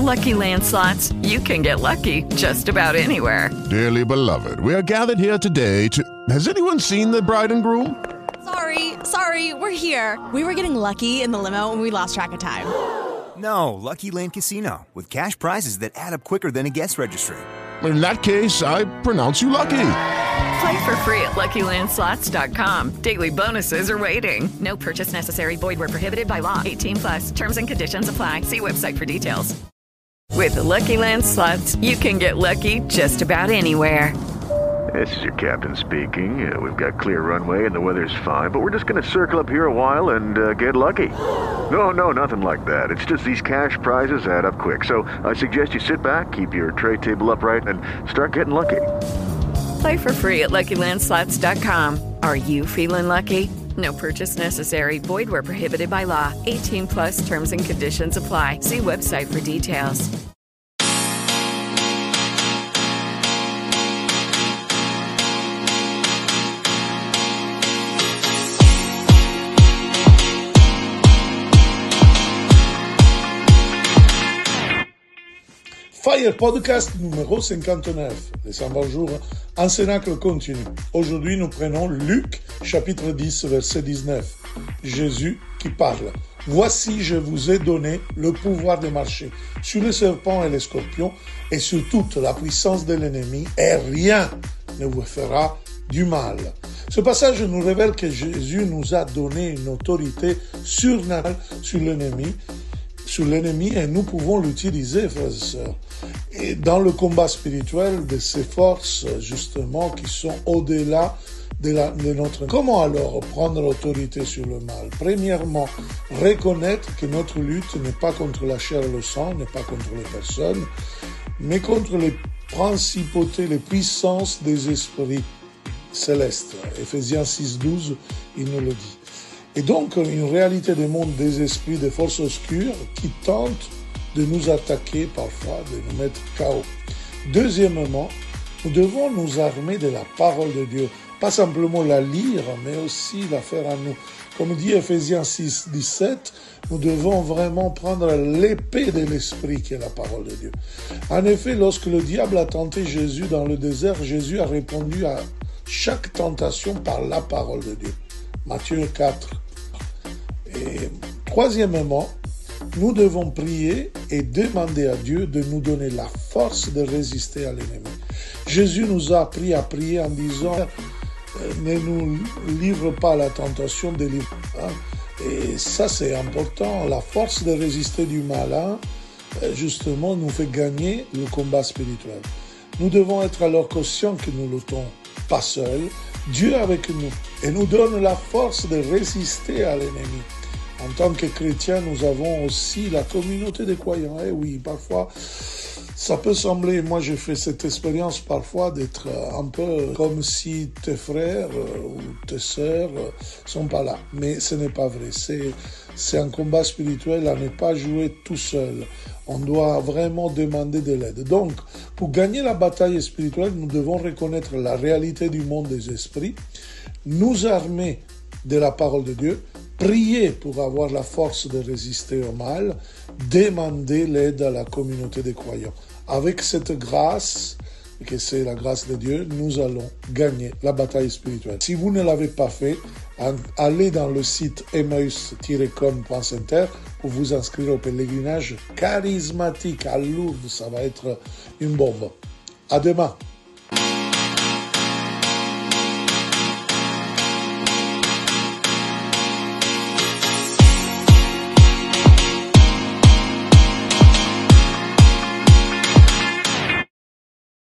Lucky Land Slots, you can get lucky just about anywhere. Dearly beloved, we are gathered here today to... Has anyone seen the bride and groom? Sorry, we're here. We were getting lucky in the limo and we lost track of time. No, Lucky Land Casino, with cash prizes that add up quicker than a guest registry. In that case, I pronounce you lucky. Play for free at LuckyLandSlots.com. Daily bonuses are waiting. No purchase necessary. Void where prohibited by law. 18+. Terms and conditions apply. See website for details. With the Lucky Land Slots, you can get lucky just about anywhere. This is your captain speaking. We've got clear runway and the weather's fine, but we're just going to circle up here a while and get lucky. No, nothing like that. It's just these cash prizes add up quick. So I suggest you sit back, keep your tray table upright, and start getting lucky. Play for free at LuckyLandSlots.com. Are you feeling lucky? No purchase necessary. Void where prohibited by law. 18+. Terms and conditions apply. See website for details. Fire Podcast numéro 59, les 120 jours en Cénacle continu. Aujourd'hui, nous prenons Luc, chapitre 10, verset 19. Jésus qui parle. Voici, je vous ai donné le pouvoir de marcher sur les serpents et les scorpions et sur toute la puissance de l'ennemi et rien ne vous fera du mal. Ce passage nous révèle que Jésus nous a donné une autorité surnaturelle sur l'ennemi et nous pouvons l'utiliser, frères et sœurs. Et dans le combat spirituel de ces forces, justement, qui sont au-delà de notre... Comment alors prendre l'autorité sur le mal? Premièrement, reconnaître que notre lutte n'est pas contre la chair et le sang, n'est pas contre les personnes, mais contre les principautés, les puissances des esprits célestes. Éphésiens 6:12, il nous le dit. Et donc, une réalité des mondes des esprits, des forces obscures qui tentent de nous attaquer parfois, de nous mettre KO. Deuxièmement, nous devons nous armer de la parole de Dieu. Pas simplement la lire, mais aussi la faire à nous. Comme dit Éphésiens 6:17, nous devons vraiment prendre l'épée de l'esprit qui est la parole de Dieu. En effet, lorsque le diable a tenté Jésus dans le désert, Jésus a répondu à chaque tentation par la parole de Dieu. Matthieu 4. Et troisièmement, nous devons prier et demander à Dieu de nous donner la force de résister à l'ennemi. Jésus nous a appris à prier en disant ne nous livre pas à la tentation, délivre. Et ça c'est important. La force de résister du malin, justement, nous fait gagner le combat spirituel. Nous devons être alors conscients que nous ne luttons pas seuls. Dieu avec nous et nous donne la force de résister à l'ennemi. En tant que chrétiens, nous avons aussi la communauté des croyants. Et oui, parfois, ça peut sembler, moi j'ai fait cette expérience parfois d'être un peu comme si tes frères ou tes sœurs sont pas là. Mais ce n'est pas vrai. C'est un combat spirituel à ne pas jouer tout seul. On doit vraiment demander de l'aide. Donc, pour gagner la bataille spirituelle, nous devons reconnaître la réalité du monde des esprits, nous armer de la parole de Dieu, prier pour avoir la force de résister au mal, demander l'aide à la communauté des croyants. Avec cette grâce, que c'est la grâce de Dieu, nous allons gagner la bataille spirituelle. Si vous ne l'avez pas fait, allez dans le site emmaüs-com.center pour vous inscrire au pèlerinage charismatique à Lourdes. Ça va être une bombe. À demain.